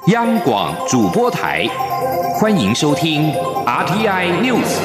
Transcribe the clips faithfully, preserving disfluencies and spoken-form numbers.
央广主播台，欢迎收听 R T I News。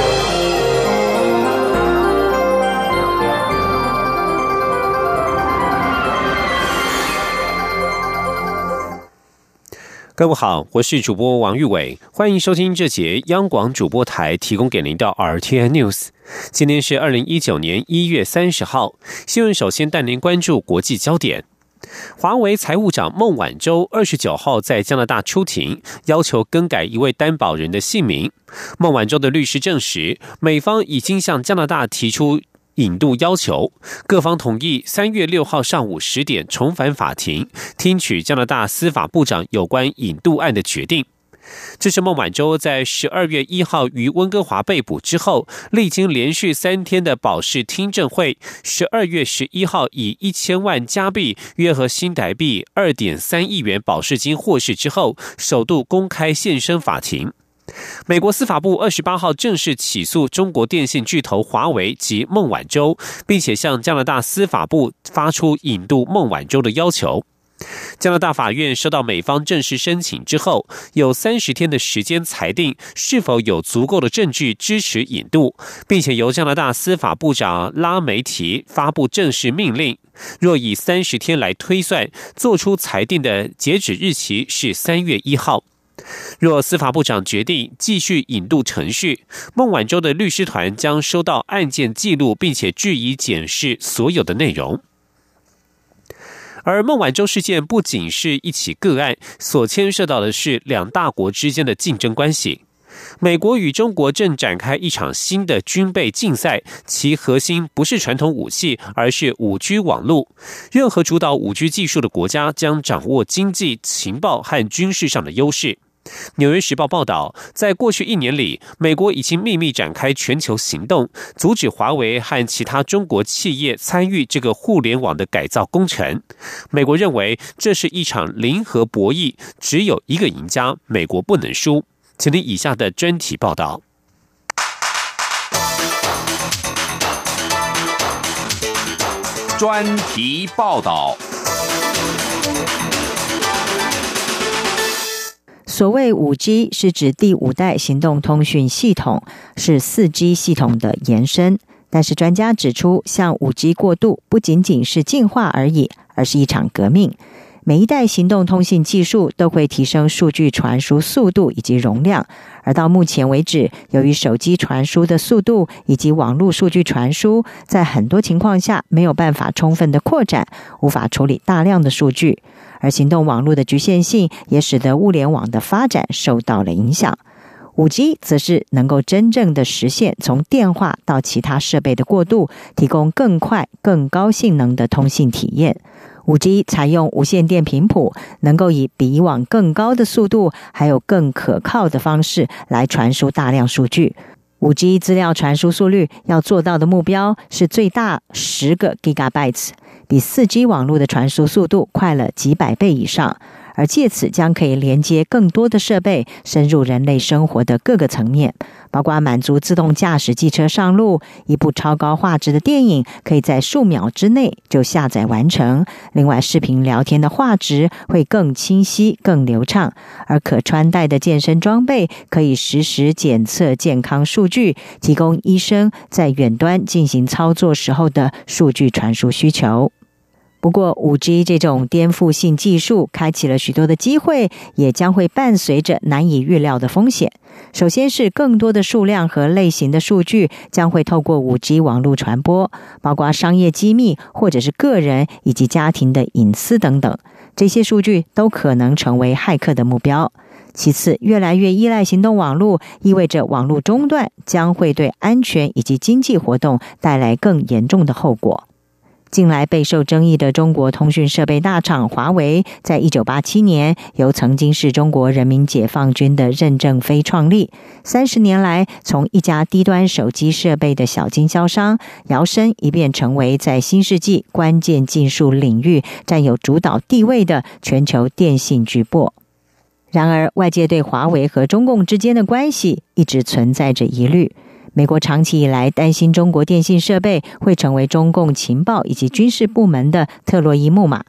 各位好，我是主播王玉伟，欢迎收听这节央广主播台提供给您的 R T I News。今天是二零一九年一月三十号，新闻首先带您关注国际焦点。华为财务长孟晚舟二十九号在加拿大出庭，要求更改一位担保人的姓名。孟晚舟的律师证实，美方已经向加拿大提出引渡要求，各方同意三月六号上午十点重返法庭，听取加拿大司法部长有关引渡案的决定。这是孟晚舟在十二月一号于温哥华被捕之后，历经连续三天的保释听证会，十二月十一号以一千万加币（约合新台币二点三亿元）保释金获释之后，首度公开现身法庭。美国司法部二十八号正式起诉中国电信巨头华为及孟晚舟，并且向加拿大司法部发出引渡孟晚舟的要求。加拿大法院收到美方正式申请之后，有三十天的时间裁定是否有足够的证据支持引渡，并且由加拿大司法部长拉梅提发布正式命令。若以三十天来推算，做出裁定的截止日期是三月一号。若司法部长决定继续引渡程序，孟晚舟的律师团将收到案件记录，并且据以检视所有的内容。而孟晚舟事件不仅是一起个案，所牵涉到的是两大国之间的竞争关系。美国与中国正展开一场新的军备竞赛，其核心不是传统武器，而是 五 G 网络。任何主导 五 G 技术的国家将掌握经济、情报和军事上的优势。纽约时报报道，在过去一年里，美国已经秘密展开全球行动，阻止华为和其他中国企业参与这个互联网的改造工程。美国认为这是一场零和博弈，只有一个赢家，美国不能输。请听以下的专题报道。 专题报道。 所谓 五 G 是指第五代行动通讯系统，是 四 G 系统的延伸。但是专家指出，向 五 G 过渡不仅仅是进化而已，而是一场革命。每一代行动通信技术都会提升数据传输速度以及容量，而到目前为止，由于手机传输的速度以及网络数据传输，在很多情况下没有办法充分的扩展，无法处理大量的数据。而行动网络的局限性也使得物联网的发展受到了影响。五 G 则是能够真正的实现从电话到其他设备的过渡，提供更快、更高性能的通信体验。五 G 采用无线电频谱，能够以比以往更高的速度，还有更可靠的方式来传输大量数据。五 G 资料传输速率要做到的目标是最大十个 gigabytes， 比 四 G 网络的传输速度快了几百倍以上，而借此将可以连接更多的设备，深入人类生活的各个层面，包括满足自动驾驶汽车上路，一部超高画质的电影可以在数秒之内就下载完成。另外，视频聊天的画质会更清晰、更流畅，而可穿戴的健身装备可以实时检测健康数据，提供医生在远端进行操作时候的数据传输需求。不过 五 G 这种颠覆性技术开启了许多的机会，也将会伴随着难以预料的风险。首先是更多的数量和类型的数据将会透过 五 G 网络传播，包括商业机密或者是个人以及家庭的隐私等等，这些数据都可能成为骇客的目标。其次，越来越依赖行动网络，意味着网络中断将会对安全以及经济活动带来更严重的后果。近来备受争议的中国通讯设备大厂华为，在一九八七年由曾经是中国人民解放军的任正非创立，三十年来从一家低端手机设备的小经销商，摇身一变成为在新世纪关键技术领域占有主导地位的全球电信巨擘。然而，外界对华为和中共之间的关系一直存在着疑虑。美国长期以来担心中国电信设备会成为中共情报以及军事部门的特洛伊木马，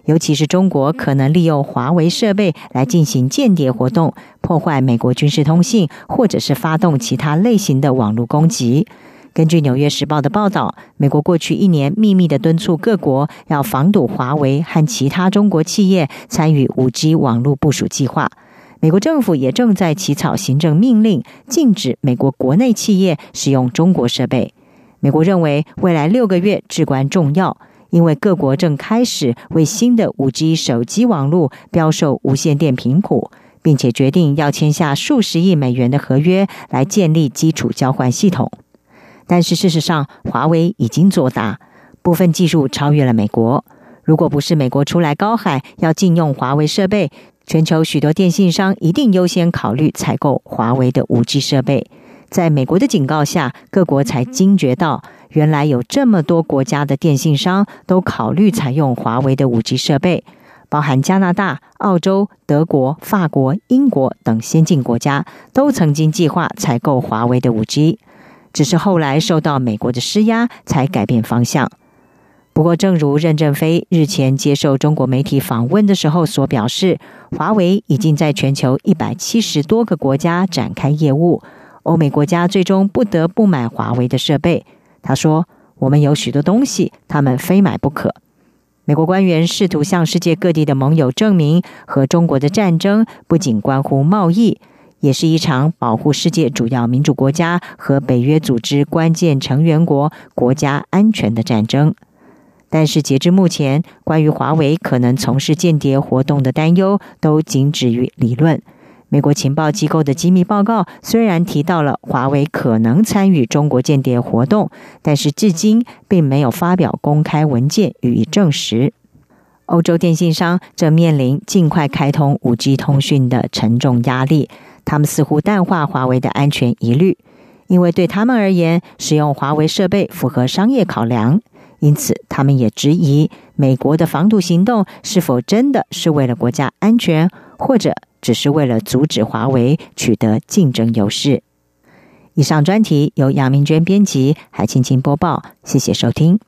尤其是中国可能利用华为设备来进行间谍活动，破坏美国军事通信，或者是发动其他类型的网络攻击。根据《纽约时报》的报道，美国过去一年秘密地敦促各国要防堵华为和其他中国企业参与 五 G 网络部署计划。美国政府也正在起草行政命令，禁止美国国内企业使用中国设备。美国认为未来六个月至关重要，因为各国正开始为新的 五 G 手机网络标售无线电频谱，并且决定要签下数十亿美元的合约来建立基础交换系统。但是事实上，华为已经做大，部分技术超越了美国。如果不是美国出来高喊要禁用华为设备，全球许多电信商一定优先考虑采购华为的 五 G 设备。在美国的警告下，各国才惊觉到，原来有这么多国家的电信商都考虑采用华为的 五 G 设备，包含加拿大、澳洲、德国、法国、英国等先进国家都曾经计划采购华为的 五 G。只是后来受到美国的施压，才改变方向。不过，正如任正非日前接受中国媒体访问的时候所表示，华为已经在全球一百七十多个国家展开业务，欧美国家最终不得不买华为的设备。他说：“我们有许多东西，他们非买不可。”美国官员试图向世界各地的盟友证明，和中国的战争不仅关乎贸易，也是一场保护世界主要民主国家和北约组织关键成员国国家安全的战争。但是截至目前，关于华为可能从事间谍活动的担忧都仅止于理论。美国情报机构的机密报告虽然提到了华为可能参与中国间谍活动，但是至今并没有发表公开文件予以证实。欧洲电信商正面临尽快开通 五 G 通讯的沉重压力，他们似乎淡化华为的安全疑虑，因为对他们而言，使用华为设备符合商业考量，因此他们也质疑美国的防堵行动是否真的是为了国家安全，或者只是为了阻止华为取得竞争优势。以上专题由杨明娟编辑，海青青播报，谢谢收听。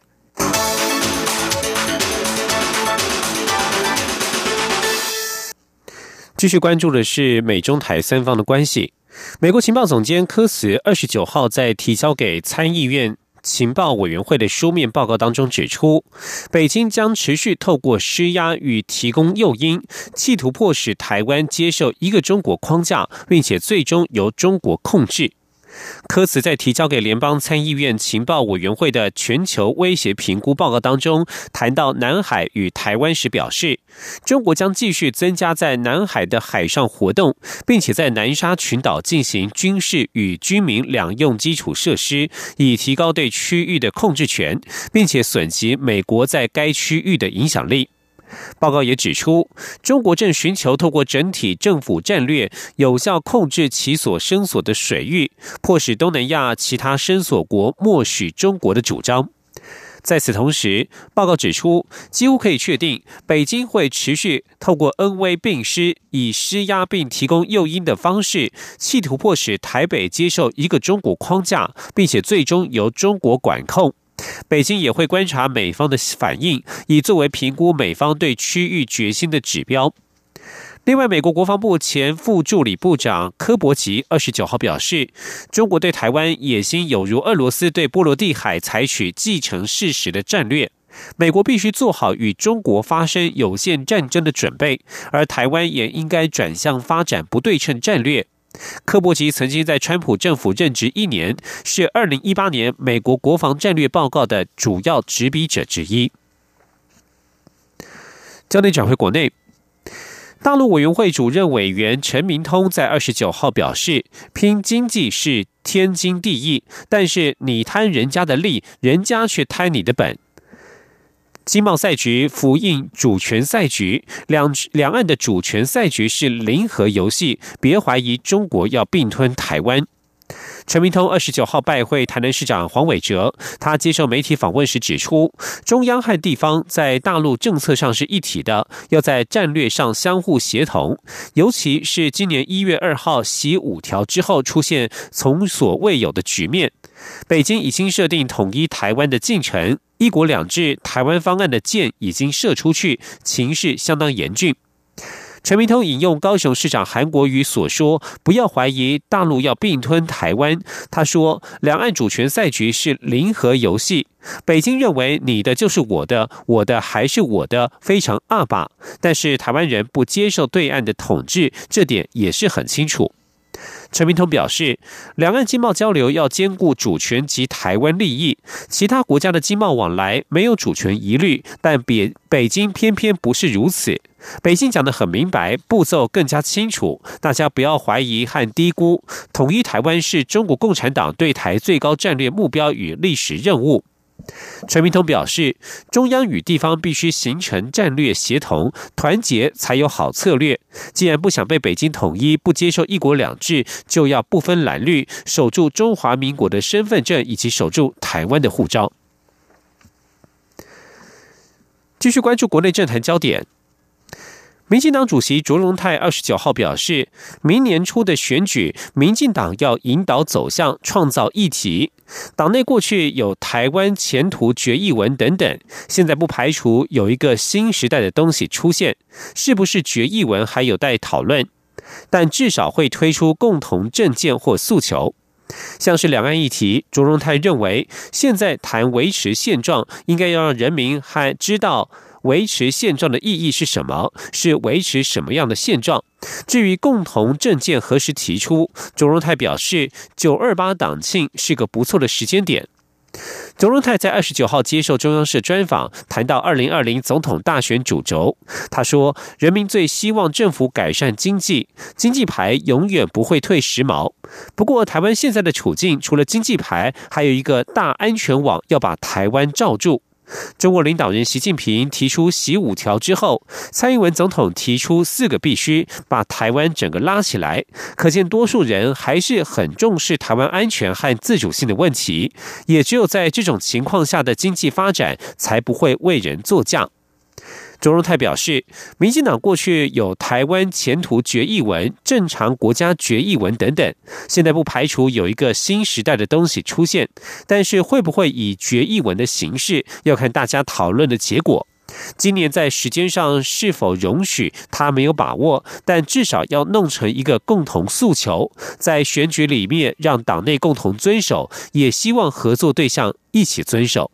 继续关注的是美中台三方的关系。美国情报总监科茨二十九号在提交给参议院情报委员会的书面报告当中指出，北京将持续透过施压与提供诱因，企图迫使台湾接受一个中国框架，并且最终由中国控制。科茨在提交给联邦参议院情报委员会的全球威胁评估报告当中，谈到南海与台湾时表示，中国将继续增加在南海的海上活动，并且在南沙群岛进行军事与居民两用基础设施，以提高对区域的控制权，并且损及美国在该区域的影响力。报告也指出，中国正寻求透过整体政府战略，有效控制其所声索的水域，迫使东南亚其他声索国默许中国的主张。在此同时，报告指出，几乎可以确定，北京会持续透过恩威并施，以施压并提供诱因的方式，企图迫使台北接受一个中国框架，并且最终由中国管控。北京也会观察美方的反应，以作为评估美方对区域决心的指标。另外，美国国防部前副助理部长柯伯奇二十九号表示，中国对台湾野心有如俄罗斯对波罗的海采取既成事实的战略，美国必须做好与中国发生有限战争的准备，而台湾也应该转向发展不对称战略。柯伯奇曾经在川普政府任职一年，是二零一八年美国国防战略报告的主要执笔者之一。焦点转回国内，大陆委员会主任委员陈明通在二十九号表示，拼经济是天经地义，但是你贪人家的利，人家却贪你的本。经贸赛局符应主权赛局，两两岸的主权赛局是零和游戏，别怀疑中国要并吞台湾。陈明通二十九号拜会台南市长黄伟哲，他接受媒体访问时指出，中央和地方在大陆政策上是一体的，要在战略上相互协同，尤其是今年一月二号习五条之后出现从所未有的局面，北京已经设定统一台湾的进程， 一国两制台湾方案的箭已经射出去，情势相当严峻。陈明通引用高雄市长韩国瑜所说，不要怀疑大陆要并吞台湾。他说，两岸主权赛局是零和游戏，北京认为你的就是我的，我的还是我的，非常阿爸。但是台湾人不接受对岸的统治，这点也是很清楚。陈明通表示，两岸经贸交流要兼顾主权及台湾利益，其他国家的经贸往来没有主权疑虑，但北北京偏偏不是如此。北京讲得很明白，步骤更加清楚，大家不要怀疑和低估，统一台湾是中国共产党对台最高战略目标与历史任务。陈明通表示，中央与地方必须形成战略协同，团结才有好策略。既然不想被北京统一，不接受一国两制，就要不分蓝绿，守住中华民国的身份证，以及守住台湾的护照。继续关注国内政坛焦点。民进党主席卓荣泰二十九号表示，明年初的选举，民进党要引导走向，创造议题。党内过去有台湾前途决议文等等，现在不排除有一个新时代的东西出现，是不是决议文还有待讨论，但至少会推出共同政见或诉求。像是两岸议题，卓荣泰认为，现在谈维持现状，应该要让人民还知道维持现状的意义是什么，是维持什么样的现状。至于共同政见何时提出，卓荣泰表示，九二八党庆是个不错的时间点。卓荣泰在二十九号接受中央社专访，谈到二零二零总统大选主轴，他说，人民最希望政府改善经济，经济牌永远不会退时髦。不过台湾现在的处境，除了经济牌，还有一个大安全网要把台湾罩住。中国领导人习近平提出习五条之后，蔡英文总统提出四个必须，把台湾整个拉起来，可见多数人还是很重视台湾安全和自主性的问题，也只有在这种情况下的经济发展才不会为人作嫁。卓荣泰表示，民进党过去有台湾前途决议文、正常国家决议文等等，现在不排除有一个新时代的东西出现，但是会不会以决议文的形式，要看大家讨论的结果。今年在时间上是否容许，他没有把握，但至少要弄成一个共同诉求，在选举里面让党内共同遵守，也希望合作对象一起遵守。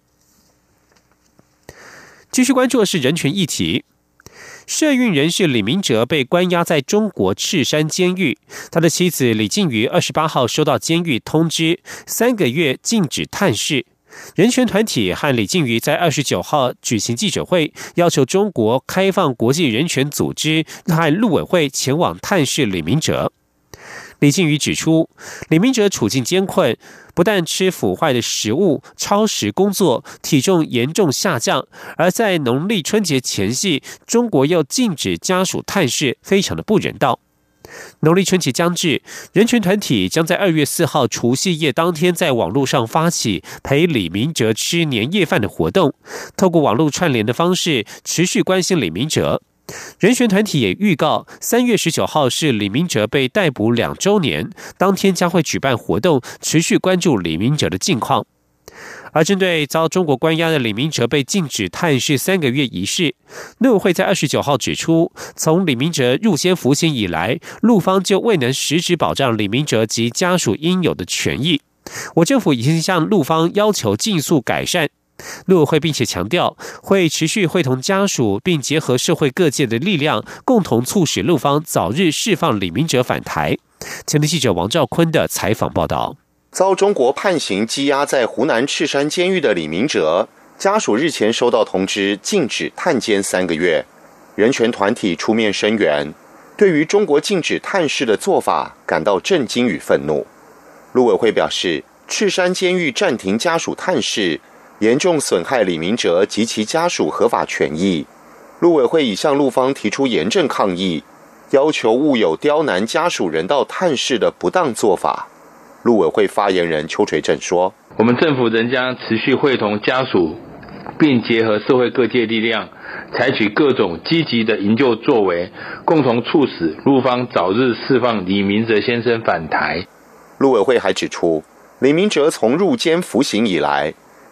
继续关注的是人权议题。社运人士李明哲被关押在中国赤山监狱，他的妻子李静瑜二十八号收到监狱通知，三个月禁止探视。人权团体和李静瑜在二十九号举行记者会，要求中国开放国际人权组织和陆委会前往探视李明哲。李静瑜指出，李明哲处境艰困，不但吃腐坏的食物、超时工作，体重严重下降，而在农历春节前夕，中国又禁止家属探视，非常的不人道。农历春节将至，人权团体将在二月四号除夕夜当天在网络上发起陪李明哲吃年夜饭的活动，透过网络串联的方式持续关心李明哲。人权团体也预告，三月十九号是李明哲被逮捕两周年，当天将会举办活动，持续关注李明哲的近况。而针对遭中国关押的李明哲被禁止探视三个月一事，陆委会在二十九号指出，从李明哲入监服刑以来，陆方就未能实质保障李明哲及家属应有的权益。我政府已经向陆方要求尽速改善。陆委会并且强调，会持续会同家属，并结合社会各界的力量，共同促使陆方早日释放李明哲返台。前天记者王兆坤的采访报道。 遭中国判刑羁押在湖南赤山监狱的李明哲，家属日前收到通知，禁止探监三个月。人权团体出面声援，对于中国禁止探视的做法感到震惊与愤怒。陆委会表示，赤山监狱暂停家属探视，严重损害李明哲及其家属合法权益。陆委会已向陆方提出严正抗议，要求勿有刁难家属人道探视的不当做法。陆委会发言人邱垂正说， 我们政府仍将持续会同家属，并结合社会各界力量，采取各种积极的营救作为，共同促使陆方早日释放李明哲先生返台。 陆委会还指出，李明哲从入监服刑以来，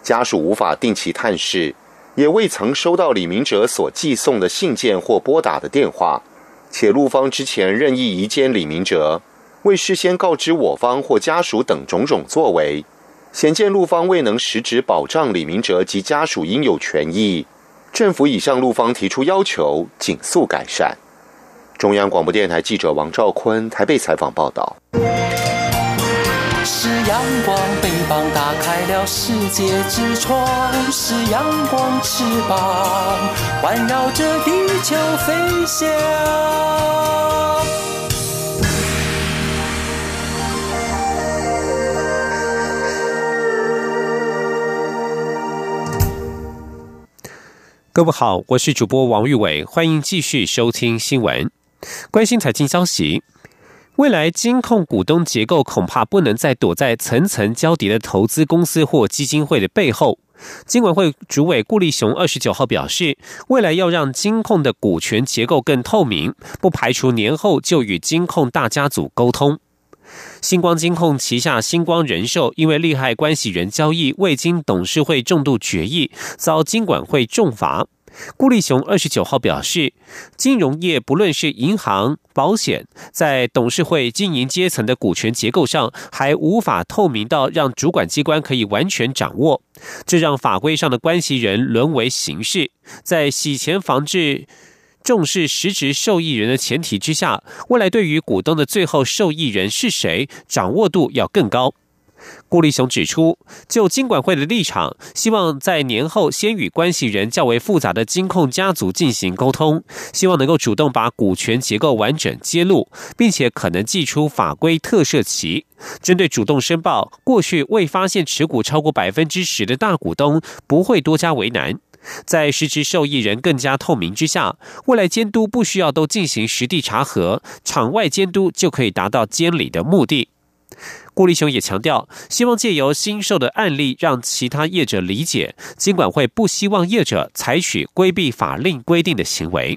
家属无法定期探视，也未曾收到李明哲所寄送的信件或拨打的电话，且陆方之前任意移监李明哲，未事先告知我方或家属等种种作为，显见陆方未能实质保障李明哲及家属应有权益。政府已向陆方提出要求，尽速改善。中央广播电台记者王兆坤台北采访报道。 是阳光，翅膀打开了世界之窗，是阳光翅膀环绕着地球飞翔。 各位好，我是主播王玉伟，欢迎继续收听新闻。关心财经消息，未来金控股东结构恐怕不能再躲在层层交叠的投资公司或基金会的背后。金管会主委顾立雄二十九号表示，未来要让金控的股权结构更透明，不排除年后就与金控大家族沟通。星光金控旗下星光人寿因为利害关系人交易未经董事会重度决议，遭金管会重罚。顾立雄二十九号表示，金融业不论是银行、保险，在董事会经营阶层的股权结构上，还无法透明到让主管机关可以完全掌握，这让法规上的关系人沦为形式，在洗钱防治重视实质受益人的前提之下，未来对于股东的最后受益人是谁，掌握度要更高。顾立雄指出，就金管会的立场，希望在年后先与关系人较为复杂的金控家族进行沟通，希望能够主动把股权结构完整揭露，并且可能祭出法规特赦期，针对主动申报过去未发现持股超过百分之十的大股东，不会多加为难。在实质受益人更加透明之下，未来监督不需要都进行实地查核，场外监督就可以达到监理的目的。顾立雄也强调，希望借由新售的案例让其他业者理解，金管会不希望业者采取规避法令规定的行为。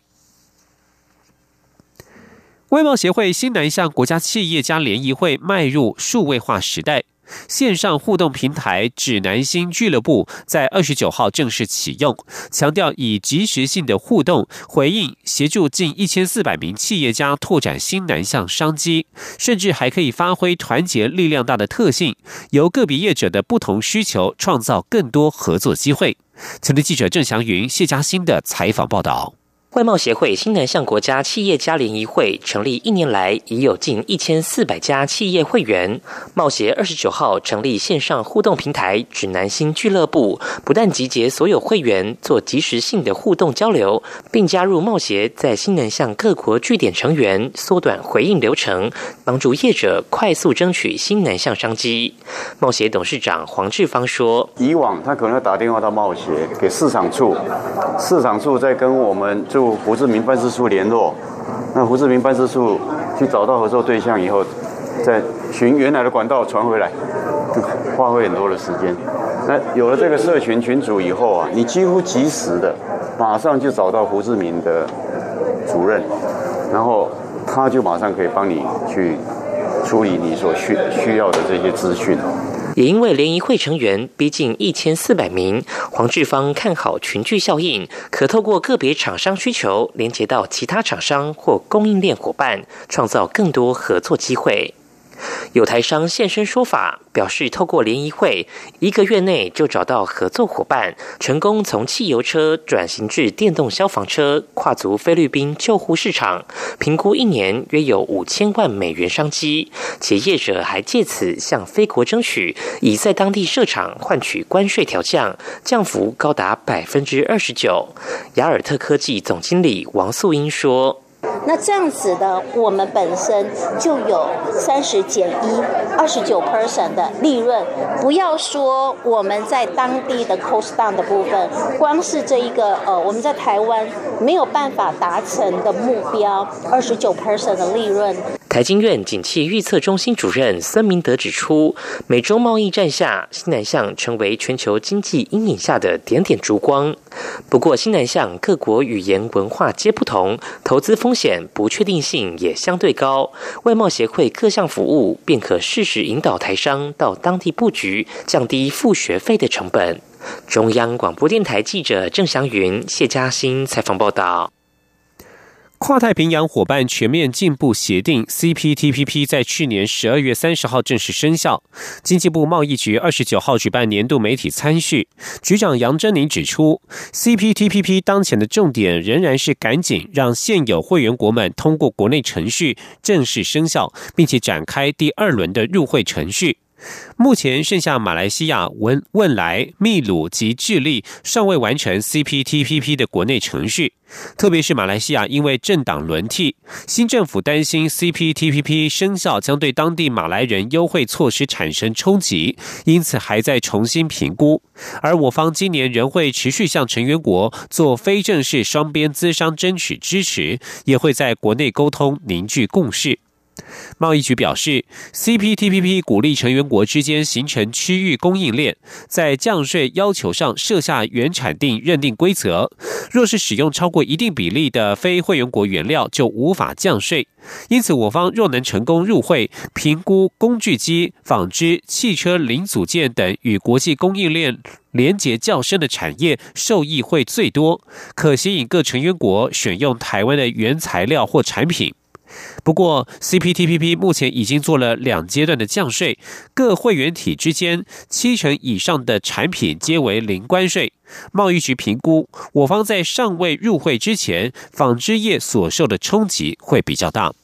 外贸协会新南向国家企业家联谊会迈入数位化时代，线上互动平台指南星俱乐部在二十九号正式启用，强调以即时性的互动回应，协助近一千四百名企业家拓展新南向商机，甚至还可以发挥团结力量大的特性，由个别业者的不同需求创造更多合作机会。前天记者郑祥云、谢嘉欣的采访报道。 外贸协会新南向国家企业家联谊会成立一年来，已有近一千四百家企业会员。贸协二十九号成立线上互动平台指南星俱乐部，不但集结所有会员做即时性的互动交流，并加入贸协在新南向各国据点成员，缩短回应流程，帮助业者快速争取新南向商机。贸协董事长黄志芳说：“ 以往他可能要打电话到贸协给市场处，市场处再跟我们驻胡志明办事处联络，那胡志明办事处去找到合作对象以后，再循原来的管道传回来，花费很多的时间。那有了这个社群群组以后啊，你几乎及时的马上就找到胡志明的主任，然后他就马上可以帮你去处理你所需需要的这些资讯。” 也因为联谊会成员逼近一千四百名，黄志芳看好群聚效应，可透过个别厂商需求，连接到其他厂商或供应链伙伴，创造更多合作机会。有台商现身说法，表示透过联谊会，一个月内就找到合作伙伴，成功从汽油车转型至电动消防车，跨足菲律宾救护市场，评估一年约有五千万美元商机，且业者还借此向菲国争取，以在当地设厂换取关税调降，降幅高达百分之二十九。雅尔特科技总经理王素英说：“ 那这样子的，我们本身就有三十减一，二十九 percent 的利润。不要说我们在当地的 cost down 的部分，光是这一个呃，我们在台湾没有办法达成的目标，二十九 percent 的利润。” 台经院景气预测中心主任孙明德指出，美洲贸易战下，新南向成为全球经济阴影下的点点烛光。不过，新南向各国语言文化皆不同，投资风险险，不确定性也相对高。外贸协会各项服务便可适时引导台商到当地布局，降低付学费的成本。中央广播电台记者郑祥云、谢嘉欣采访报道。 跨太平洋伙伴全面进步协定 C P T P P 在去年十二月三十号正式生效。经济部贸易局二十九号举办年度媒体参叙，局长杨珍宁指出 ，C P T P P 当前的重点仍然是赶紧让现有会员国们通过国内程序正式生效，并且展开第二轮的入会程序。目前剩下马来西亚、汶汶莱、秘鲁及智利尚未完成 C P T P P 的国内程序，特别是马来西亚因为政党轮替，新政府担心 C P T P P 生效将对当地马来人优惠措施产生冲击，因此还在重新评估。而我方今年仍会持续向成员国做非正式双边咨商争取支持，也会在国内沟通凝聚共识。贸易局表示 ，C P T P P 鼓励成员国之间形成区域供应链，在降税要求上设下原产地认定规则。若是使用超过一定比例的非会员国原料，就无法降税。因此，我方若能成功入会，评估工具机、纺织、汽车零组件等与国际供应链连结较深的产业，受益会最多，可吸引各成员国选用台湾的原材料或产品。不过 ，C P T P P 目前已经做了两阶段的降税，各会员体之间七成以上的产品皆为零关税。贸易局评估，我方在尚未入会之前，纺织业所受的冲击会比较大。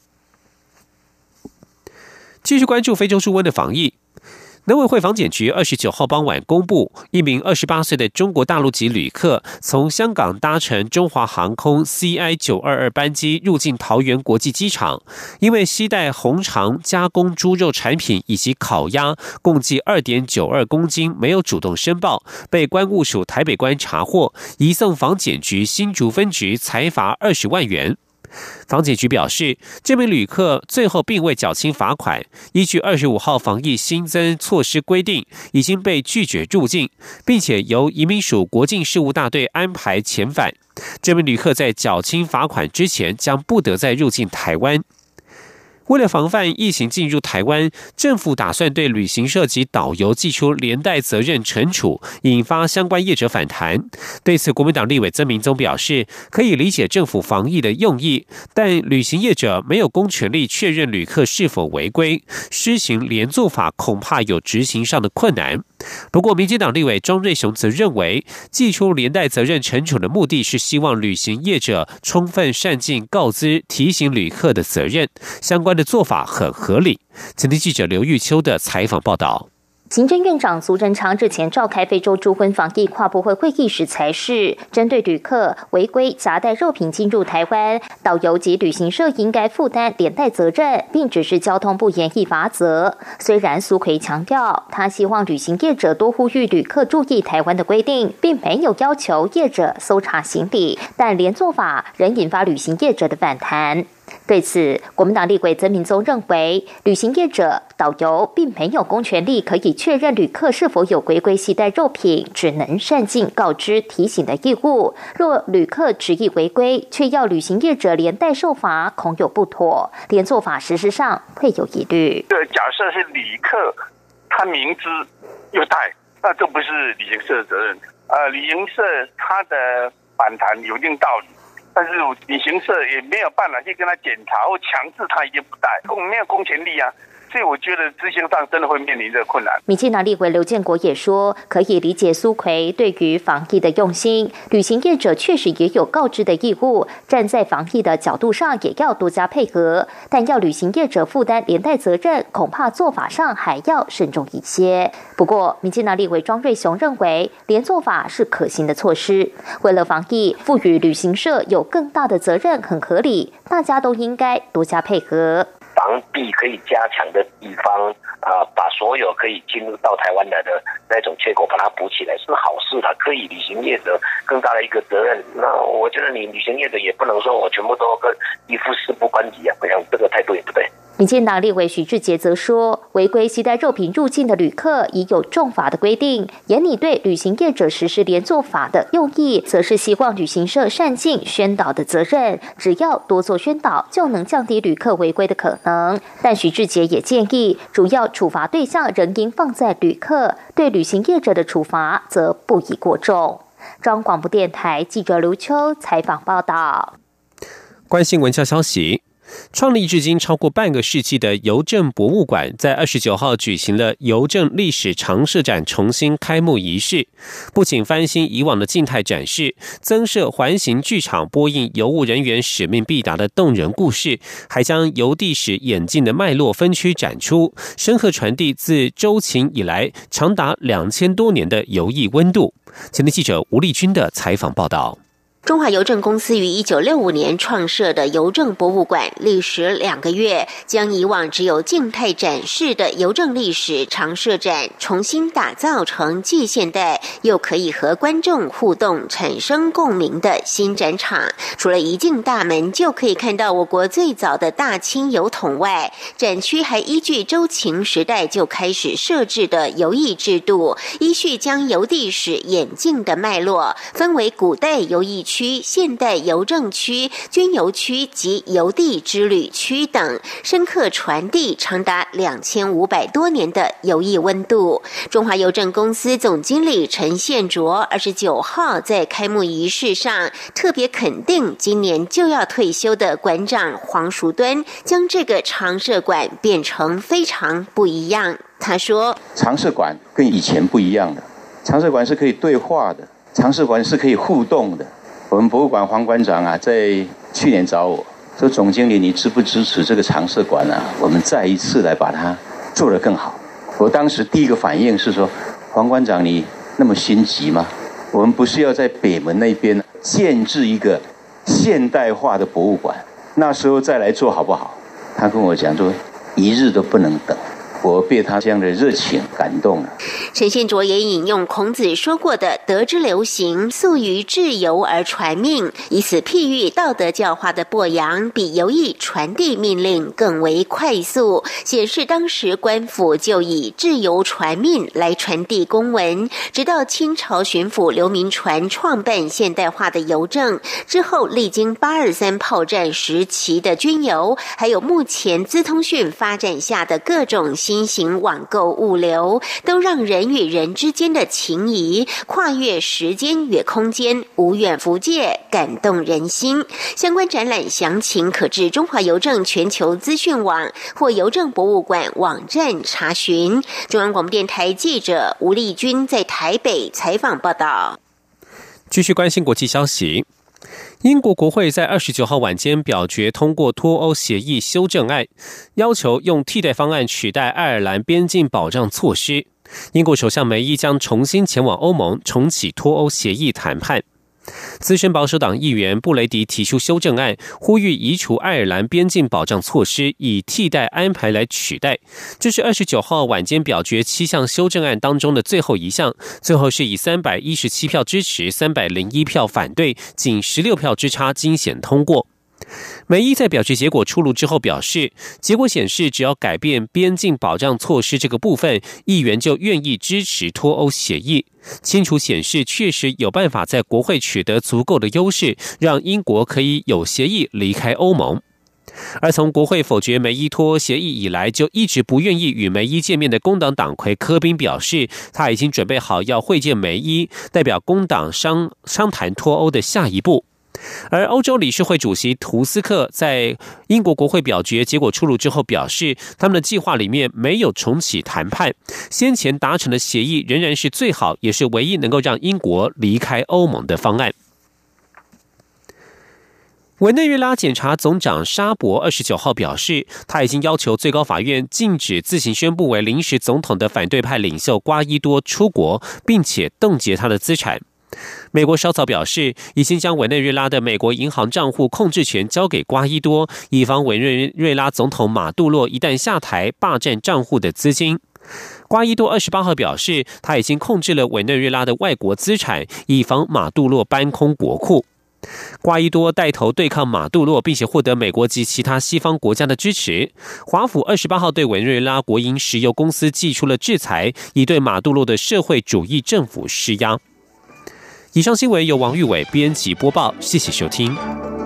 继续关注非洲猪瘟的防疫。农委会防检局二十九号傍晚公布，一名二十八岁的中国大陆籍旅客从香港搭乘中华航空 C I 九二二 班机入境桃园国际机场，因为携带红肠加工猪肉产品以及烤鸭共计 二点九二公斤，没有主动申报，被关务署台北关查获，移送防检局新竹分局裁罚二十万元。防检局表示，这名旅客最后并未缴清罚款，依据二十五号防疫新增措施规定，已经被拒绝入境，并且由移民署国境事务大队安排遣返。这名旅客在缴清罚款之前，将不得再入境台湾。为了防范疫情进入台湾，政府打算对旅行社及导游祭出连带责任惩处，引发相关业者反弹。对此，国民党立委曾明宗表示，可以理解政府防疫的用意，但旅行业者没有公权力确认旅客是否违规，施行连坐法恐怕有执行上的困难。不过，民进党立委庄瑞雄则认为，祭出连带责任惩处的目的是希望旅行业者充分善尽告知、提醒旅客的责任，相关的做法很合理。前天记者刘玉秋的采访报道。 行政院长苏贞昌日前召开非洲猪瘟防疫跨部会会议时才是，针对旅客违规夹带肉品进入台湾，导游及旅行社应该负担连带责任，并指示交通部严厉罚则。虽然苏揆强调，他希望旅行业者多呼吁旅客注意台湾的规定，并没有要求业者搜查行李，但连坐法仍引发旅行业者的反弹。对此，国民党立委曾明宗认为，旅行业者、导游并没有公权力可以确认旅客是否有违规携带肉品，只能善尽告知、提醒的义务。若旅客执意违规，却要旅行业者连带受罚，恐有不妥，连坐法实施上会有疑虑。 这假设是旅客他明知又带，那这不是旅行社的责任。呃，旅行社他的反弹有一定道理。但是旅行社也没有办法去跟他检查或强制他一定不带，没有公权力啊，所以我觉得执行上真的会面临这个困难。 民进党立委刘建国也说，可以理解苏揆对于防疫的用心，旅行业者确实也有告知的义务，站在防疫的角度上也要多加配合，但要旅行业者负担连带责任，恐怕做法上还要慎重一些。不过，民进党立委庄瑞雄认为，连坐法是可行的措施。为了防疫，赋予旅行社有更大的责任很合理，大家都应该多加配合。 防弊可以加强的地方啊、呃，把所有可以进入到台湾来的那种缺口把它补起来是好事，它可以旅行业者更大的一个责任。那我觉得你旅行业者也不能说我全部都跟一副事不关己啊，我想这个态度也不对。 民进党立委许智杰则说，违规携带肉品入境的旅客已有重罚的规定，严拟对旅行业者实施连坐法的用意，则是希望旅行社善尽宣导的责任，只要多做宣导，就能降低旅客违规的可能。但许智杰也建议，主要处罚对象仍应放在旅客，对旅行业者的处罚则不宜过重。中央广播电台记者刘秋采访报道。 关心文教消息。创立至今超过半个世纪的邮政博物馆，在二十九号举行了邮政历史常设展重新开幕仪式。不仅翻新以往的静态展示，增设环形剧场播映邮务人员使命必达的动人故事，还将邮递史演进的脉络分区展出，深刻传递自周秦以来长达两千多年的邮艺温度。前天记者吴丽君的采访报道。 中华邮政公司于一九六五年创设的邮政博物馆，历时两个月，将以往只有静态展示的邮政历史常设展重新打造成既现代又可以和观众互动、产生共鸣的新展场。除了一进大门就可以看到我国最早的大清邮筒外，展区还依据周秦时代就开始设置的邮艺制度，依序将邮递史演进的脉络分为古代邮艺区、现代邮政区、军邮区及邮递之旅区等，深刻传递长达两千五百多年的邮艺温度。中华邮政公司总经理陈宪卓二十九号在开幕仪式上特别肯定今年就要退休的馆长黄淑敦，将这个常设馆变成非常不一样。他说， 常设馆跟以前不一样的，常设馆是可以对话的，常设馆是可以互动的。我们博物馆黄馆长啊，在去年找我说，总经理，你支不支持这个常设馆啊？我们再一次来把它做得更好。我当时第一个反应是说，黄馆长你那么心急吗？我们不是要在北门那边建制一个现代化的博物馆，那时候再来做好不好？他跟我讲说，一日都不能等。我被他这样的热情感动了。 陈宪卓也引用孔子说过的“德之流行，素于至邮而传命”，以此譬喻道德教化的播扬比邮艺传递命令更为快速，显示当时官府就以至邮传命来传递公文。直到清朝巡抚刘铭传创办现代化的邮政之后，历经八二三炮战时期的军邮，还有目前资通讯发展下的各种新新型网购物流，都让人与人之间的情谊跨越时间与空间，无远弗届，感动人心。相关展览详情可至中华邮政全球资讯网或邮政博物馆网站查询。中央广播电台记者吴丽君在台北采访报道。 继续关心国际消息。英国国会在二十九号晚间表决通过脱欧协议修正案，要求用替代方案取代爱尔兰边境保障措施。英国首相梅伊将重新前往欧盟重启脱欧协议谈判。资深保守党议员布雷迪提出修正案，呼吁移除爱尔兰边境保障措施，以替代安排来取代。这是二十九号晚间表决七项修正案当中的最后一项，最后是以三百一十七票支持、三百零一票反对，仅十六票之差惊险通过。梅伊在表决结果出炉之后表示，结果显示只要改变边境保障措施这个部分，议员就愿意支持脱欧协议。清楚显示确实有办法在国会取得足够的优势，让英国可以有协议离开欧盟。而从国会否决梅伊脱欧协议以来，就一直不愿意与梅伊见面的工党党魁科宾表示，他已经准备好要会见梅伊，代表工党商商谈脱欧的下一步。而欧洲理事会主席图斯克在英国国会表决结果出炉之后表示，他们的计划里面没有重启谈判，先前达成的协议仍然是最好也是唯一能够让英国离开欧盟的方案。委内瑞拉检察总长沙博二十九号表示，他已经要求最高法院禁止自行宣布为临时总统的反对派领袖瓜伊多出国，并且冻结他的资产。美国稍早表示，已经将委内瑞拉的美国银行账户控制权交给瓜伊多，以防委内瑞拉总统马杜洛一旦下台霸占账户的资金。瓜伊多二十八号表示，他已经控制了委内瑞拉的外国资产，以防马杜洛搬空国库。 瓜伊多带头对抗马杜罗，并且获得美国及其他西方国家的支持。华府二十八号对委内瑞拉国营石油公司祭出了制裁，以对马杜罗的社会主义政府施压。以上新闻由王玉伟编辑播报，谢谢收听。